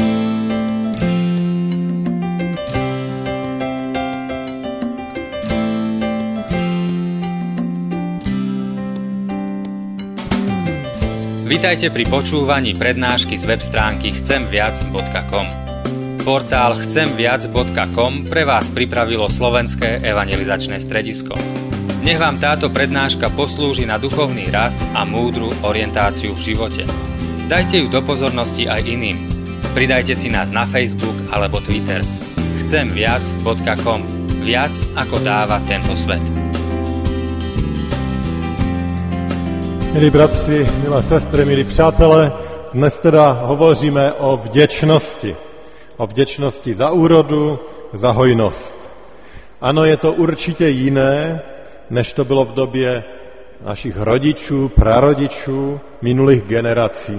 Vitajte pri počúvaní prednášky z web stránky chcemviac.com. Portál chcemviac.com pre vás pripravilo Slovenské evangelizačné stredisko. Nech vám táto prednáška poslúži na duchovný rast a múdru orientáciu v živote. Dajte ju do pozornosti aj iným. Pridajte si nás na Facebook alebo Twitter. chcemviac.com. Viac ako dáva tento svet. Milí bratři, milé sestry, milí přátelé, dnes teda hovoříme o vděčnosti. O vděčnosti za úrodu, za hojnost. Ano, je to určitě jiné, než to bylo v době našich rodičů, prarodičů, minulých generací.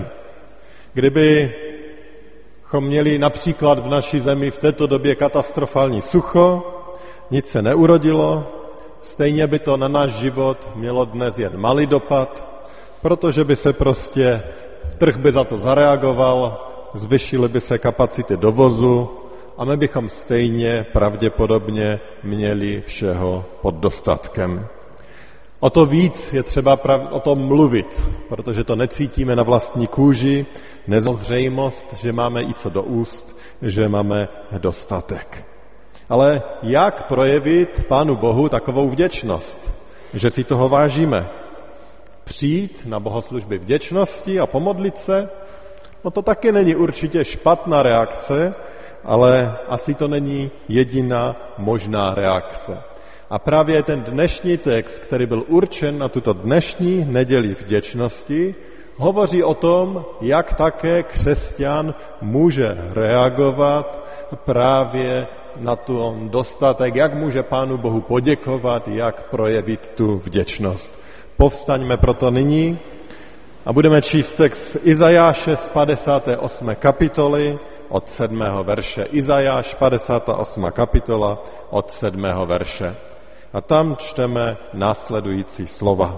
Kdybychom měli například v naší zemi v této době katastrofální sucho, nic se neurodilo, stejně by to na náš život mělo dnes jen malý dopad, protože by se prostě trh by za to zareagoval, zvyšily by se kapacity dovozu a my bychom stejně pravděpodobně měli všeho pod dostatkem. O to víc je třeba o tom mluvit, protože to necítíme na vlastní kůži, nezřejmost, že máme i co do úst, že máme dostatek. Ale jak projevit Pánu Bohu takovou vděčnost, že si toho vážíme? Přijít na bohoslužby vděčnosti a pomodlit se? No to taky není určitě špatná reakce, ale asi to není jediná možná reakce. A právě ten dnešní text, který byl určen na tuto dnešní neděli vděčnosti, hovoří o tom, jak také křesťan může reagovat právě na ten dostatek, jak může Pánu Bohu poděkovat, jak projevit tu vděčnost. Povstaňme proto nyní a budeme číst text Izajáše z 58. kapitoly od 7. verše. Izajáš, 58. kapitola od 7. verše. A tam čteme následující slova.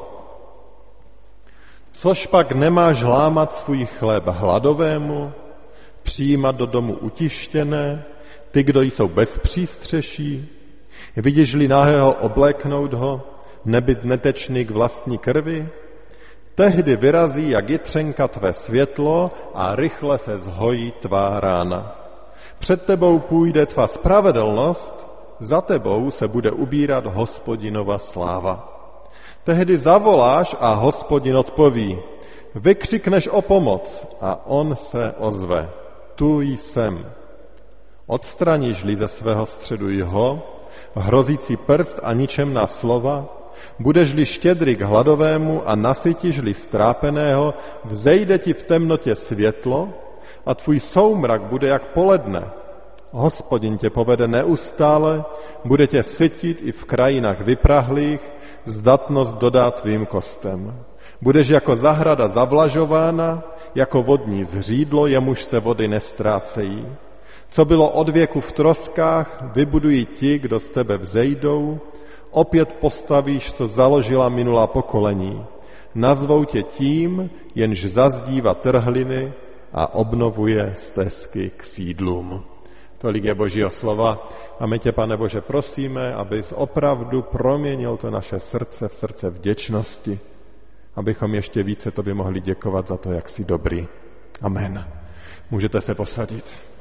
Což pak nemáš lámat svůj chléb hladovému, přijímat do domu utištěné, ty, kdo jsou bez přístřeší, vidíš-li nahého obléknout ho, nebyt netečný k vlastní krvi? Tehdy vyrazí jak jitřenka tvé světlo a rychle se zhojí tvá rána. Před tebou půjde tvá spravedlnost, za tebou se bude ubírat Hospodinova sláva. Tehdy zavoláš a Hospodin odpoví. Vykřikneš o pomoc a on se ozve. Tu jsem. Odstraníš-li ze svého středu jeho, hrozící prst a ničemná slova, budeš-li štědrý k hladovému a nasytíš-li strápeného, vzejde ti v temnotě světlo a tvůj soumrak bude jak poledne. Hospodin tě povede neustále, bude tě sytit i v krajinách vyprahlých, zdatnost dodá tvým kostem. Budeš jako zahrada zavlažována, jako vodní zřídlo, jemuž se vody nestrácejí. Co bylo od věku v troskách, vybudují ti, kdo z tebe vzejdou, opět postavíš, co založila minulá pokolení. Nazvou tě tím, jenž zazdívá trhliny a obnovuje stezky k sídlům. Tolik je Božího slova a my tě, Pane Bože, prosíme, abys opravdu proměnil to naše srdce v srdce vděčnosti, abychom ještě více tobě mohli děkovat za to, jak jsi dobrý. Amen. Můžete se posadit.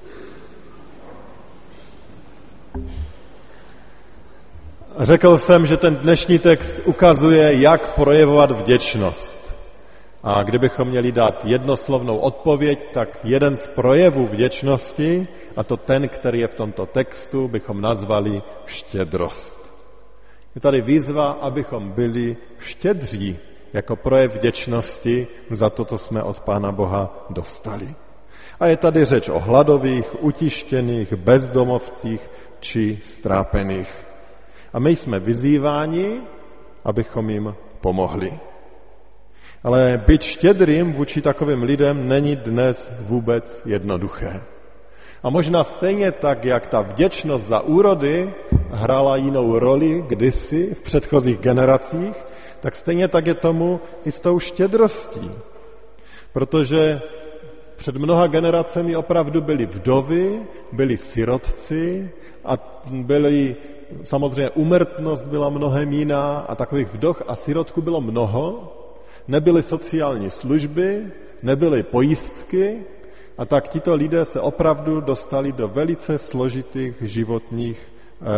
Řekl jsem, že ten dnešní text ukazuje, jak projevovat vděčnost. A kdybychom měli dát jednoslovnou odpověď, tak jeden z projevů vděčnosti, a to ten, který je v tomto textu, bychom nazvali štědrost. Je tady výzva, abychom byli štědří jako projev vděčnosti za to, co jsme od Pána Boha dostali. A je tady řeč o hladových, utištěných, bezdomovcích či strápených. A my jsme vyzýváni, abychom jim pomohli. Ale být štědrým vůči takovým lidem není dnes vůbec jednoduché. A možná stejně tak, jak ta vděčnost za úrody hrála jinou roli kdysi v předchozích generacích, tak stejně tak je tomu i s tou štědrostí. Protože před mnoha generacemi opravdu byli vdovy, byli sirotci a samozřejmě úmrtnost byla mnohem jiná a takových vdov a sirotků bylo mnoho. Nebyly sociální služby, nebyly pojistky a tak tito lidé se opravdu dostali do velice složitých životních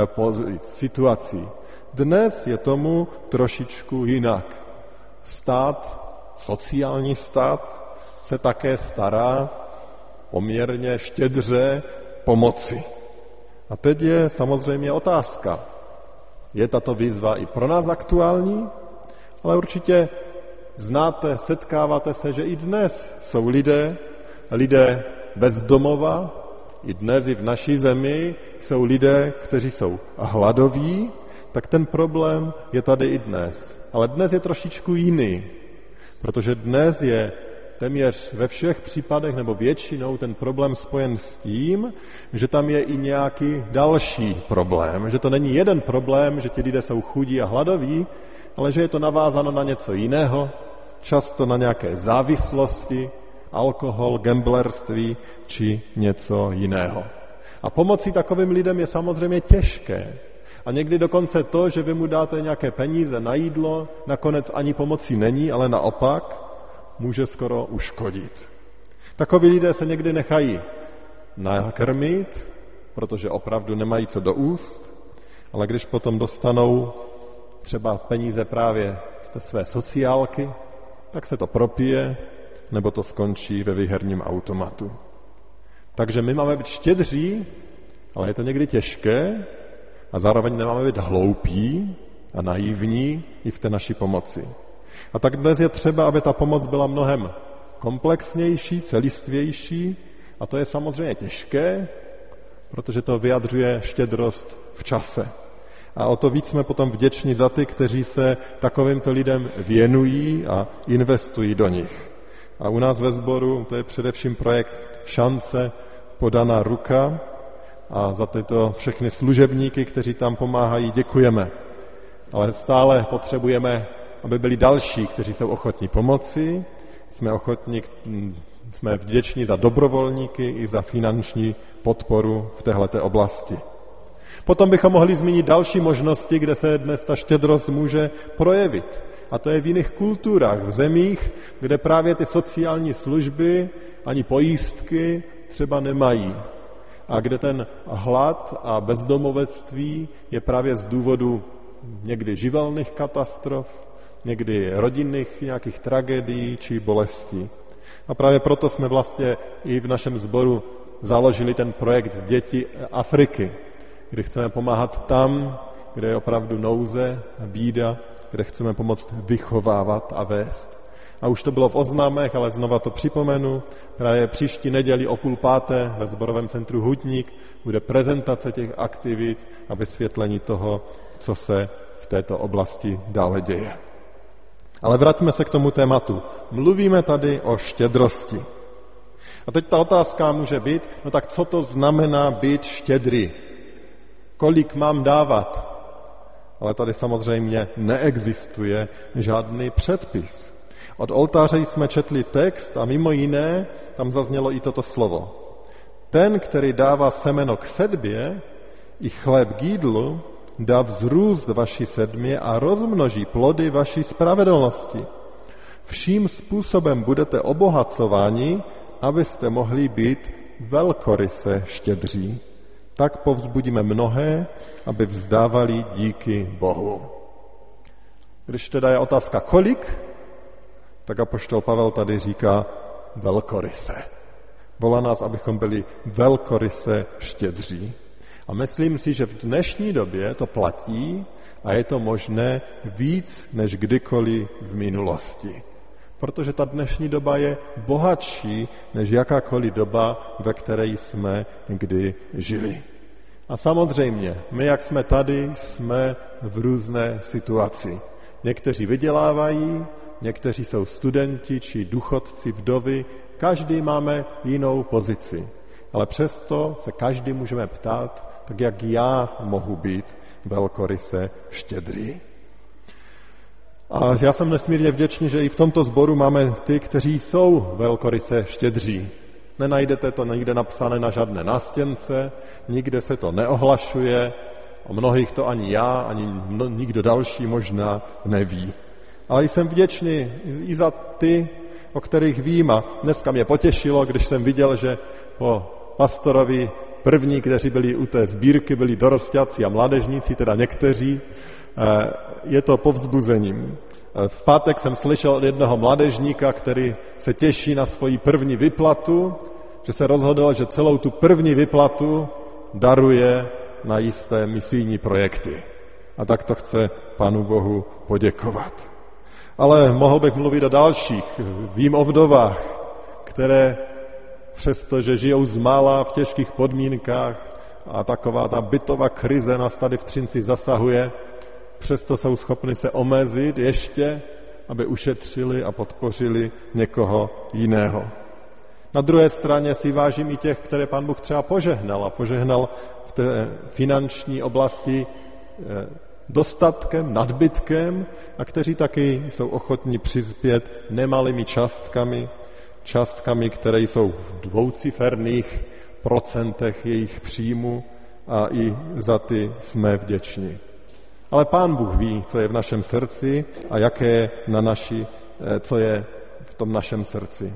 situací. Dnes je tomu trošičku jinak. Stát, sociální stát se také stará poměrně štědře pomoci. A teď je samozřejmě otázka. Je tato výzva i pro nás aktuální? Ale určitě znáte, setkáváte se, že i dnes jsou lidé bez domova, i dnes i v naší zemi jsou lidé, kteří jsou hladoví, tak ten problém je tady i dnes. Ale dnes je trošičku jiný, protože dnes je téměř ve všech případech nebo většinou ten problém spojen s tím, že tam je i nějaký další problém. Že to není jeden problém, že ti lidé jsou chudí a hladoví, ale že je to navázáno na něco jiného, často na nějaké závislosti, alkohol, gamblerství či něco jiného. A pomocí takovým lidem je samozřejmě těžké. A někdy dokonce to, že vy mu dáte nějaké peníze na jídlo, nakonec ani pomocí není, ale naopak může skoro uškodit. Takoví lidé se někdy nechají nakrmit, protože opravdu nemají co do úst, ale když potom dostanou třeba peníze právě z té své sociálky, tak se to propije, nebo to skončí ve výherním automatu. Takže my máme být štědří, ale je to někdy těžké a zároveň nemáme být hloupí a naivní i v té naší pomoci. A tak dnes je třeba, aby ta pomoc byla mnohem komplexnější, celistvější a to je samozřejmě těžké, protože to vyjadřuje štědrost v čase. A o to víc jsme potom vděční za ty, kteří se takovýmto lidem věnují a investují do nich. A u nás ve sboru to je především projekt Šance, podaná ruka a za tyto všechny služebníky, kteří tam pomáhají, děkujeme. Ale stále potřebujeme, aby byli další, kteří jsou ochotní pomoci. Jsme vděční za dobrovolníky i za finanční podporu v téhleté oblasti. Potom bychom mohli zmínit další možnosti, kde se dnes ta štědrost může projevit. A to je v jiných kulturách, v zemích, kde právě ty sociální služby ani pojistky třeba nemají. A kde ten hlad a bezdomovectví je právě z důvodu někdy živelných katastrof, někdy rodinných nějakých tragédií či bolestí. A právě proto jsme vlastně i v našem sboru založili ten projekt Děti Afriky, kde chceme pomáhat tam, kde je opravdu nouze, bída, kde chceme pomoct vychovávat a vést. A už to bylo v oznámech, ale znova to připomenu. Právě příští neděli o 4:30 ve sborovém centru Hutník bude prezentace těch aktivit a vysvětlení toho, co se v této oblasti dále děje. Ale vraťme se k tomu tématu. Mluvíme tady o štědrosti. A teď ta otázka může být, no tak co to znamená být štědrý? Kolik mám dávat? Ale tady samozřejmě neexistuje žádný předpis. Od oltáře jsme četli text a mimo jiné tam zaznělo i toto slovo. Ten, který dává semeno k sedbě i chléb k jídlu, dá vzrůst vaší sedmě a rozmnoží plody vaší spravedlnosti. Vším způsobem budete obohacováni, abyste mohli být velkoryse štědří. Tak povzbudíme mnohé, aby vzdávali díky Bohu. Když teda je otázka kolik, tak apoštol Pavel tady říká velkoryse. Volá nás, abychom byli velkoryse štědří. A myslím si, že v dnešní době to platí a je to možné víc než kdykoliv v minulosti. Protože ta dnešní doba je bohatší než jakákoliv doba, ve které jsme kdy žili. A samozřejmě, my, jak jsme tady, jsme v různé situaci. Někteří vydělávají, někteří jsou studenti či důchodci, vdovy, každý máme jinou pozici. Ale přesto se každý můžeme ptát, tak jak já mohu být velkoryse štědrý. A já jsem nesmírně vděčný, že i v tomto sboru máme ty, kteří jsou velkoryse štědří. Nenajdete to nikde napsané na žádné nástěnce, nikde se to neohlašuje, o mnohých to ani já, ani nikdo další možná neví. Ale jsem vděčný i za ty, o kterých vím, a dneska mě potěšilo, když jsem viděl, že po pastorovi první, kteří byli u té sbírky, byli dorostáci a mládežníci, teda někteří, je to povzbuzením. V pátek jsem slyšel od jednoho mládežníka, který se těší na svoji první vyplatu, že se rozhodl, že celou tu první vyplatu daruje na jisté misijní projekty. A tak to chce Pánu Bohu poděkovat. Ale mohl bych mluvit o dalších. Vím o vdovách, které přestože žijou zmála v těžkých podmínkách a taková ta bytová krize nás tady v Třinci zasahuje, přesto jsou schopni se omezit ještě, aby ušetřili a podpořili někoho jiného. Na druhé straně si vážím i těch, které Pán Bůh třeba požehnal a požehnal v té finanční oblasti dostatkem, nadbytkem a kteří taky jsou ochotní přispět nemalými částkami, které jsou v dvouciferných procentech jejich příjmu a i za ty jsme vděční. Ale Pán Bůh ví, co je v našem srdci a jaké je co je v tom našem srdci.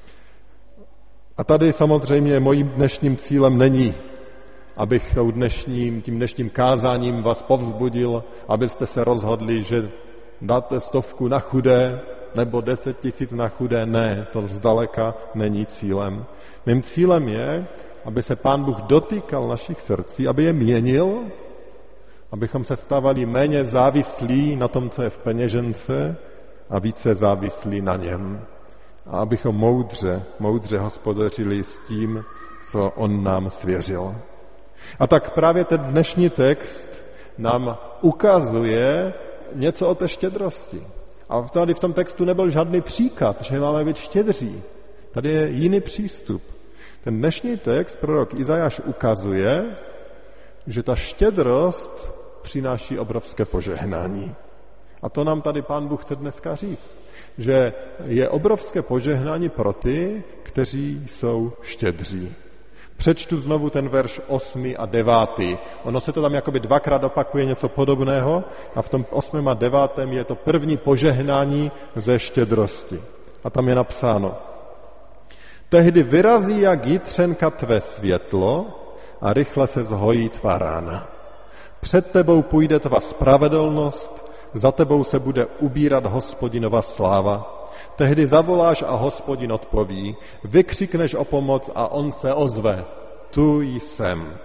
A tady samozřejmě mojím dnešním cílem není, abych tím dnešním kázáním vás povzbudil, abyste se rozhodli, že dáte 100 na chudé nebo 10 000 na chudé. Ne, to zdaleka není cílem. Mým cílem je, aby se Pán Bůh dotýkal našich srdcí, aby je měnil, abychom se stávali méně závislí na tom, co je v peněžence a více závislí na něm. A abychom moudře hospodařili s tím, co on nám svěřil. A tak právě ten dnešní text nám ukazuje něco o té štědrosti. A tady v tom textu nebyl žádný příkaz, že máme být štědří. Tady je jiný přístup. Ten dnešní text, prorok Izajáš, ukazuje, že ta štědrost přináší obrovské požehnání. A to nám tady Pán Bůh chce dneska říct, že je obrovské požehnání pro ty, kteří jsou štědří. Přečtu znovu ten verš 8. a 9. Ono se to tam jakoby dvakrát opakuje něco podobného a v tom 8. a 9. je to první požehnání ze štědrosti. A tam je napsáno: Tehdy vyrazí jak jitřenka tvé světlo a rychle se zhojí tvá rána. Před tebou půjde tvá spravedlnost, za tebou se bude ubírat Hospodinova sláva. Tehdy zavoláš a Hospodin odpoví, vykřikneš o pomoc a on se ozve. Tu jsem.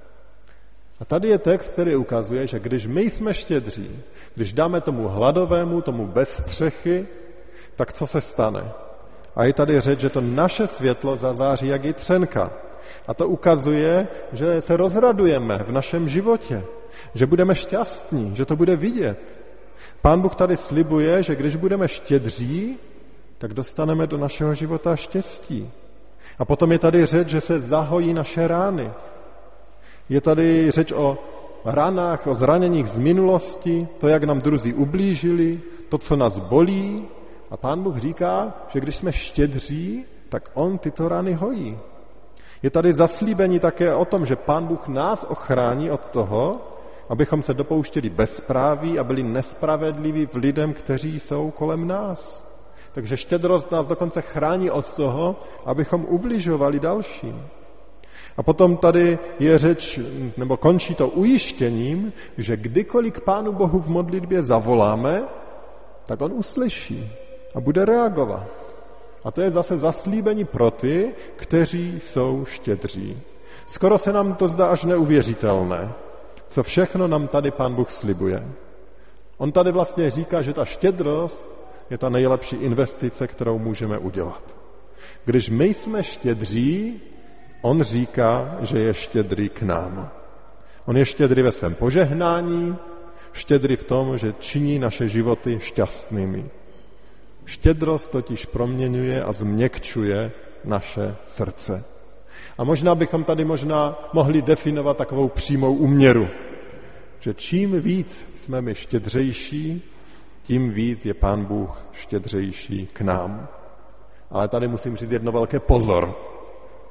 A tady je text, který ukazuje, že když my jsme štědří, když dáme tomu hladovému, tomu bez střechy, tak co se stane? A je tady řeč, že to naše světlo zazáří jak jitřenka. A to ukazuje, že se rozradujeme v našem životě, že budeme šťastní, že to bude vidět. Pán Bůh tady slibuje, že když budeme štědří, tak dostaneme do našeho života štěstí. A potom je tady řeč, že se zahojí naše rány. Je tady řeč o ranách, o zraněních z minulosti, to, jak nám druzí ublížili, to, co nás bolí. A Pán Bůh říká, že když jsme štědří, tak on tyto rany hojí. Je tady zaslíbení také o tom, že Pán Bůh nás ochrání od toho, abychom se dopouštěli bezpráví a byli nespravedliví v lidem, kteří jsou kolem nás. Takže štědrost nás dokonce chrání od toho, abychom ubližovali dalším. A potom tady je řeč, nebo končí to ujištěním, že kdykoliv k Pánu Bohu v modlitbě zavoláme, tak on uslyší a bude reagovat. A to je zase zaslíbení pro ty, kteří jsou štědří. Skoro se nám to zdá až neuvěřitelné, co všechno nám tady Pán Bůh slibuje. On tady vlastně říká, že ta štědrost je ta nejlepší investice, kterou můžeme udělat. Když my jsme štědří, on říká, že je štědrý k nám. On je štědrý ve svém požehnání, štědrý v tom, že činí naše životy šťastnými. Štědrost totiž proměňuje a změkčuje naše srdce. A možná bychom tady mohli definovat takovou přímou úměru, že čím víc jsme my štědřejší, tím víc je Pán Bůh štědřejší k nám. Ale tady musím říct jedno velké pozor.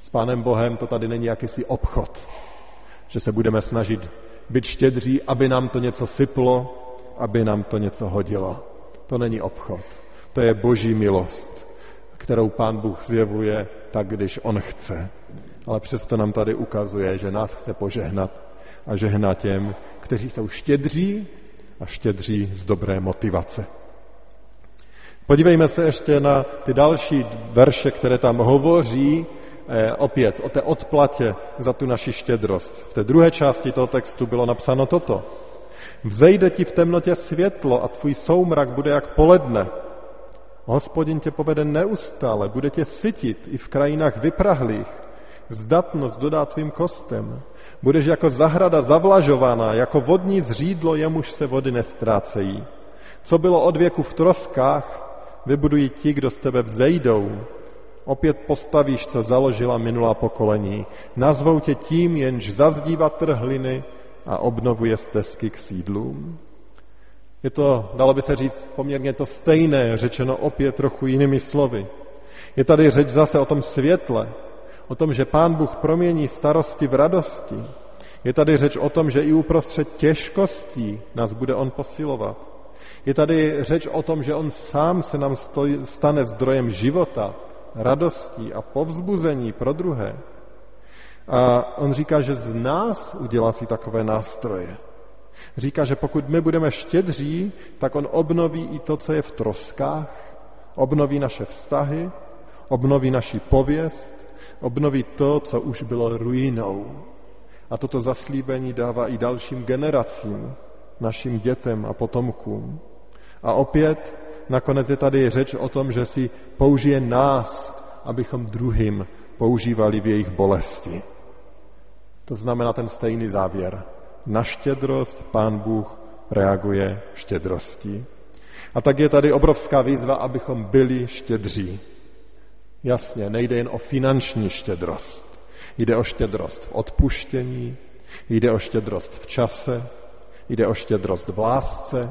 S Pánem Bohem to tady není jakýsi obchod, že se budeme snažit být štědří, aby nám to něco syplo, aby nám to něco hodilo. To není obchod. To je Boží milost, kterou Pán Bůh zjevuje tak, když On chce. Ale přesto nám tady ukazuje, že nás chce požehnat a žehná těm, kteří jsou štědří a štědří z dobré motivace. Podívejme se ještě na ty další verše, které tam hovoří opět o té odplatě za tu naši štědrost. V té druhé části toho textu bylo napsáno toto. Vzejde ti v temnotě světlo a tvůj soumrak bude jak poledne. Hospodin tě povede neustále, bude tě sytit i v krajinách vyprahlých. Zdatnost dodá tvým kostem. Budeš jako zahrada zavlažovaná, jako vodní zřídlo, jemuž se vody nestrácejí. Co bylo od věku v troskách, vybudují ti, kdo z tebe vzejdou. Opět postavíš, co založila minulá pokolení. Nazvou tě tím, jenž zazdívá trhliny a obnovuje stezky k sídlům. Je to, dalo by se říct, poměrně to stejné, řečeno opět trochu jinými slovy. Je tady řeč zase o tom světle, o tom, že Pán Bůh promění starosti v radosti. Je tady řeč o tom, že i uprostřed těžkostí nás bude On posilovat. Je tady řeč o tom, že On sám se nám stane zdrojem života, radostí a povzbuzení pro druhé. A On říká, že z nás udělá si takové nástroje. Říká, že pokud my budeme štědří, tak On obnoví i to, co je v troskách, obnoví naše vztahy, obnoví naši pověst, obnoví to, co už bylo ruinou. A toto zaslíbení dává i dalším generacím, našim dětem a potomkům. A opět nakonec je tady řeč o tom, že si použije nás, abychom druhým používali v jejich bolesti. To znamená ten stejný závěr. Na štědrost Pán Bůh reaguje štědrostí. A tak je tady obrovská výzva, abychom byli štědří. Jasně, nejde jen o finanční štědrost. Jde o štědrost v odpuštění, jde o štědrost v čase, jde o štědrost v lásce.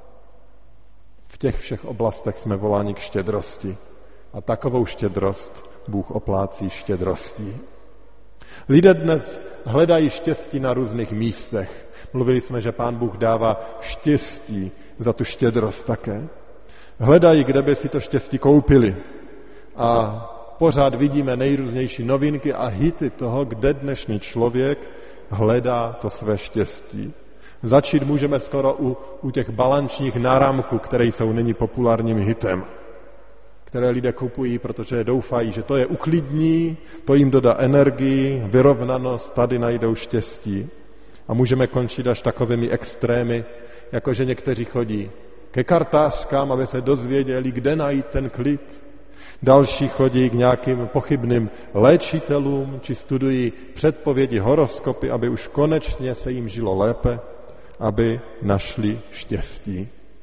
V těch všech oblastech jsme voláni k štědrosti. A takovou štědrost Bůh oplácí štědrostí. Lidé dnes hledají štěstí na různých místech. Mluvili jsme, že Pán Bůh dává štěstí za tu štědrost také. Hledají, kde by si to štěstí koupili. A pořád vidíme nejrůznější novinky a hity toho, kde dnešní člověk hledá to své štěstí. Začít můžeme skoro u těch balančních náramků, které jsou nyní populárním hitem, které lidé kupují, protože doufají, že to je uklidní, to jim dodá energii, vyrovnanost, tady najdou štěstí. A můžeme končit až takovými extrémy, jakože někteří chodí ke kartářkám, aby se dozvěděli, kde najít ten klid. Další chodí k nějakým pochybným léčitelům, či studují předpovědi, horoskopy, aby už konečně se jim žilo lépe, aby našli štěstí.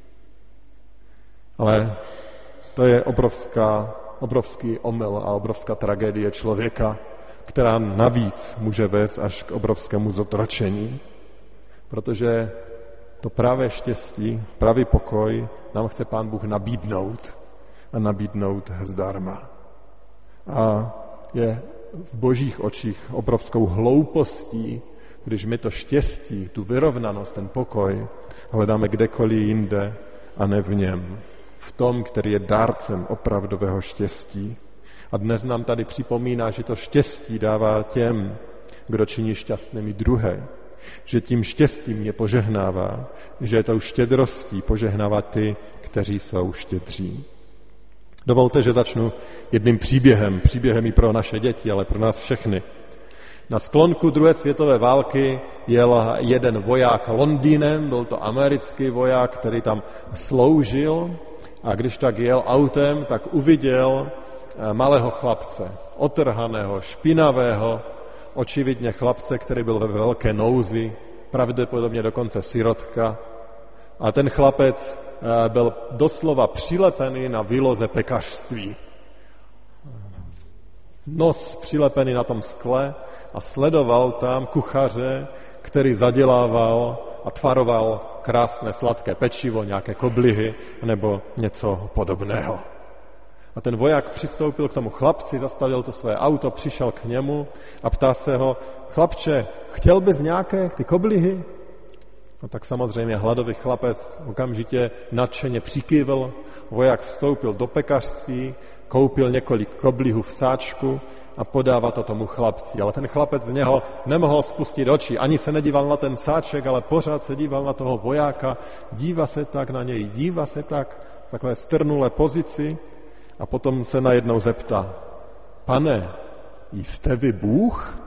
Ale to je obrovský omyl a obrovská tragédie člověka, která navíc může vést až k obrovskému zotročení. Protože to pravé štěstí, pravý pokoj nám chce Pán Bůh nabídnout a nabídnout zdarma. A je v Božích očích obrovskou hloupostí, když my to štěstí, tu vyrovnanost, ten pokoj hledáme kdekoliv jinde a ne v něm. V tom, který je dárcem opravdového štěstí. A dnes nám tady připomíná, že to štěstí dává těm, kdo činí šťastnými druhé. Že tím štěstím je požehnává, že tou štědrostí požehnává ty, kteří jsou štědří. Dovolte, že začnu jedným příběhem i pro naše děti, ale pro nás všechny. Na sklonku druhé světové války jel jeden voják Londýnem, byl to americký voják, který tam sloužil, a když tak jel autem, tak uviděl malého chlapce, otrhaného, špinavého, očividně chlapce, který byl ve velké nouzi, pravděpodobně dokonce sirotka. A ten chlapec byl doslova přilepený na výloze pekařství. Nos přilepený na tom skle a sledoval tam kuchaře, který zadělával a tvaroval krásné sladké pečivo, nějaké koblihy nebo něco podobného. A ten voják přistoupil k tomu chlapci, zastavil to své auto, přišel k němu a ptá se ho: chlapče, chtěl bys nějaké ty koblihy? No tak samozřejmě hladový chlapec okamžitě nadšeně přikývl, voják vstoupil do pekařství, koupil několik koblihů v sáčku a podává to tomu chlapci. Ale ten chlapec z něho nemohl spustit oči, ani se nedíval na ten sáček, ale pořád se díval na toho vojáka, dívá se tak na něj, dívá se tak v takové strnulé pozici a potom se najednou zeptá: pane, jste vy Bůh?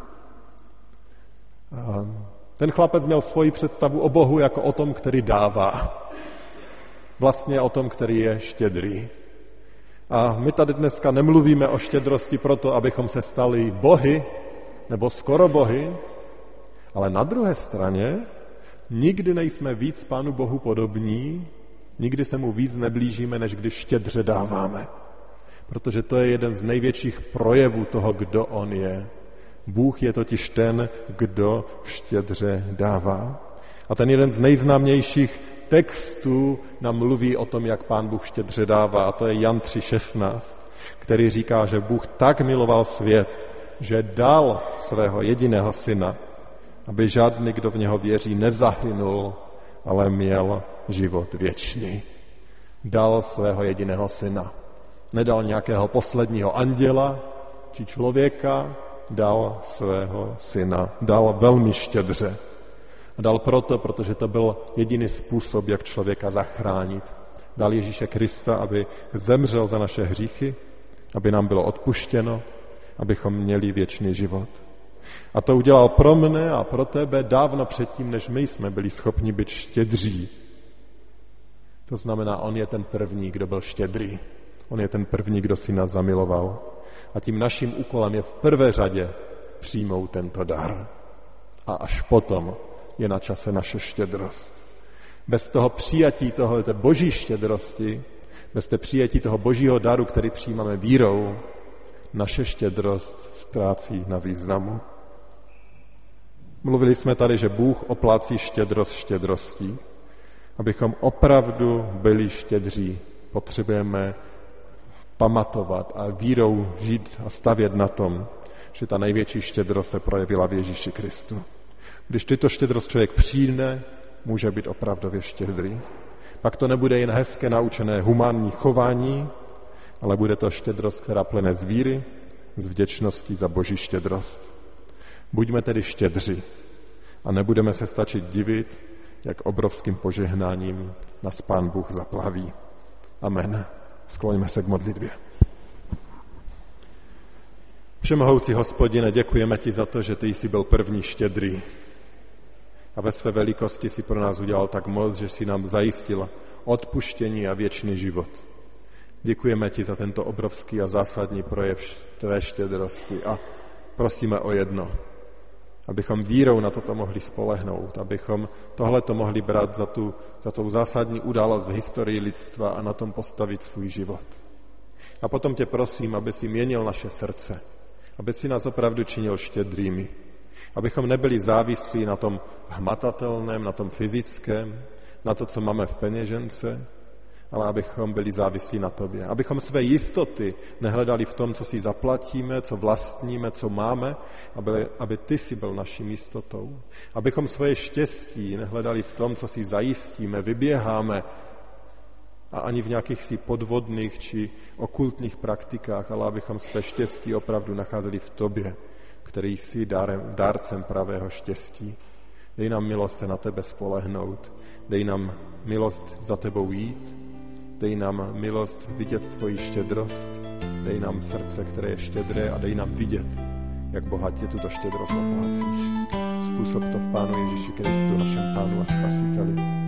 A ten chlapec měl svoji představu o Bohu jako o tom, který dává. Vlastně o tom, který je štědrý. A my tady dneska nemluvíme o štědrosti proto, abychom se stali bohy nebo skoro bohy, ale na druhé straně nikdy nejsme víc Pánu Bohu podobní, nikdy se mu víc neblížíme, než když štědře dáváme. Protože to je jeden z největších projevů toho, kdo on je. Bůh je totiž ten, kdo štědře dává. A ten jeden z nejznámějších textů nám mluví o tom, jak Pán Bůh štědře dává, a to je Jan 3,16, který říká, že Bůh tak miloval svět, že dal svého jediného syna, aby žádný, kdo v něho věří, nezahynul, ale měl život věčný. Dal svého jediného syna. Nedal nějakého posledního anděla či člověka, dal svého syna. Dal velmi štědře. A dal proto, protože to byl jediný způsob, jak člověka zachránit. Dal Ježíše Krista, aby zemřel za naše hříchy, aby nám bylo odpuštěno, abychom měli věčný život. A to udělal pro mne a pro tebe dávno předtím, než my jsme byli schopni být štědří. To znamená, on je ten první, kdo byl štědrý. On je ten první, kdo si nás zamiloval. A tím naším úkolem je v prvé řadě přijmout tento dar. A až potom je na čase naše štědrost. Bez toho přijatí té boží štědrosti, bez té přijetí toho božího daru, který přijímáme vírou, naše štědrost ztrácí na významu. Mluvili jsme tady, že Bůh oplácí štědrost štědrostí. Abychom opravdu byli štědří, potřebujeme pamatovat a vírou žít a stavět na tom, že ta největší štědrost se projevila v Ježíši Kristu. Když tyto štědrost člověk přijme, může být opravdově štědrý. Pak to nebude jen hezké naučené humánní chování, ale bude to štědrost, která plyne z víry, z vděčnosti za boží štědrost. Buďme tedy štědří a nebudeme se stačit divit, jak obrovským požehnáním nás Pán Bůh zaplaví. Amen. Skloňme se k modlitbě. Všemohoucí Hospodine, děkujeme ti za to, že ty jsi byl první štědrý. A ve své velikosti si pro nás udělal tak moc, že si nám zajistil odpuštění a věčný život. Děkujeme ti za tento obrovský a zásadní projev tvé štědrosti a prosíme o jedno, abychom vírou na toto mohli spolehnout, abychom tohleto mohli brát za tou zásadní událost v historii lidstva a na tom postavit svůj život. A potom tě prosím, aby si měnil naše srdce, aby si nás opravdu činil štědrými, abychom nebyli závislí na tom hmatatelném, na tom fyzickém, na to, co máme v peněžence, ale abychom byli závislí na tobě. Abychom své jistoty nehledali v tom, co si zaplatíme, co vlastníme, co máme, aby ty si byl naším jistotou. Abychom svoje štěstí nehledali v tom, co si zajistíme, vyběháme a ani v nějakých si podvodných či okultních praktikách, ale abychom své štěstí opravdu nacházeli v tobě, který jsi dárcem pravého štěstí. Dej nám milost se na tebe spolehnout, dej nám milost za tebou jít, dej nám milost vidět tvoji štědrost, dej nám srdce, které je štědré a dej nám vidět, jak bohatě tuto štědrost oplácíš. Způsob to v Pánu Ježíši Kristu, našem Pánu a Spasiteli.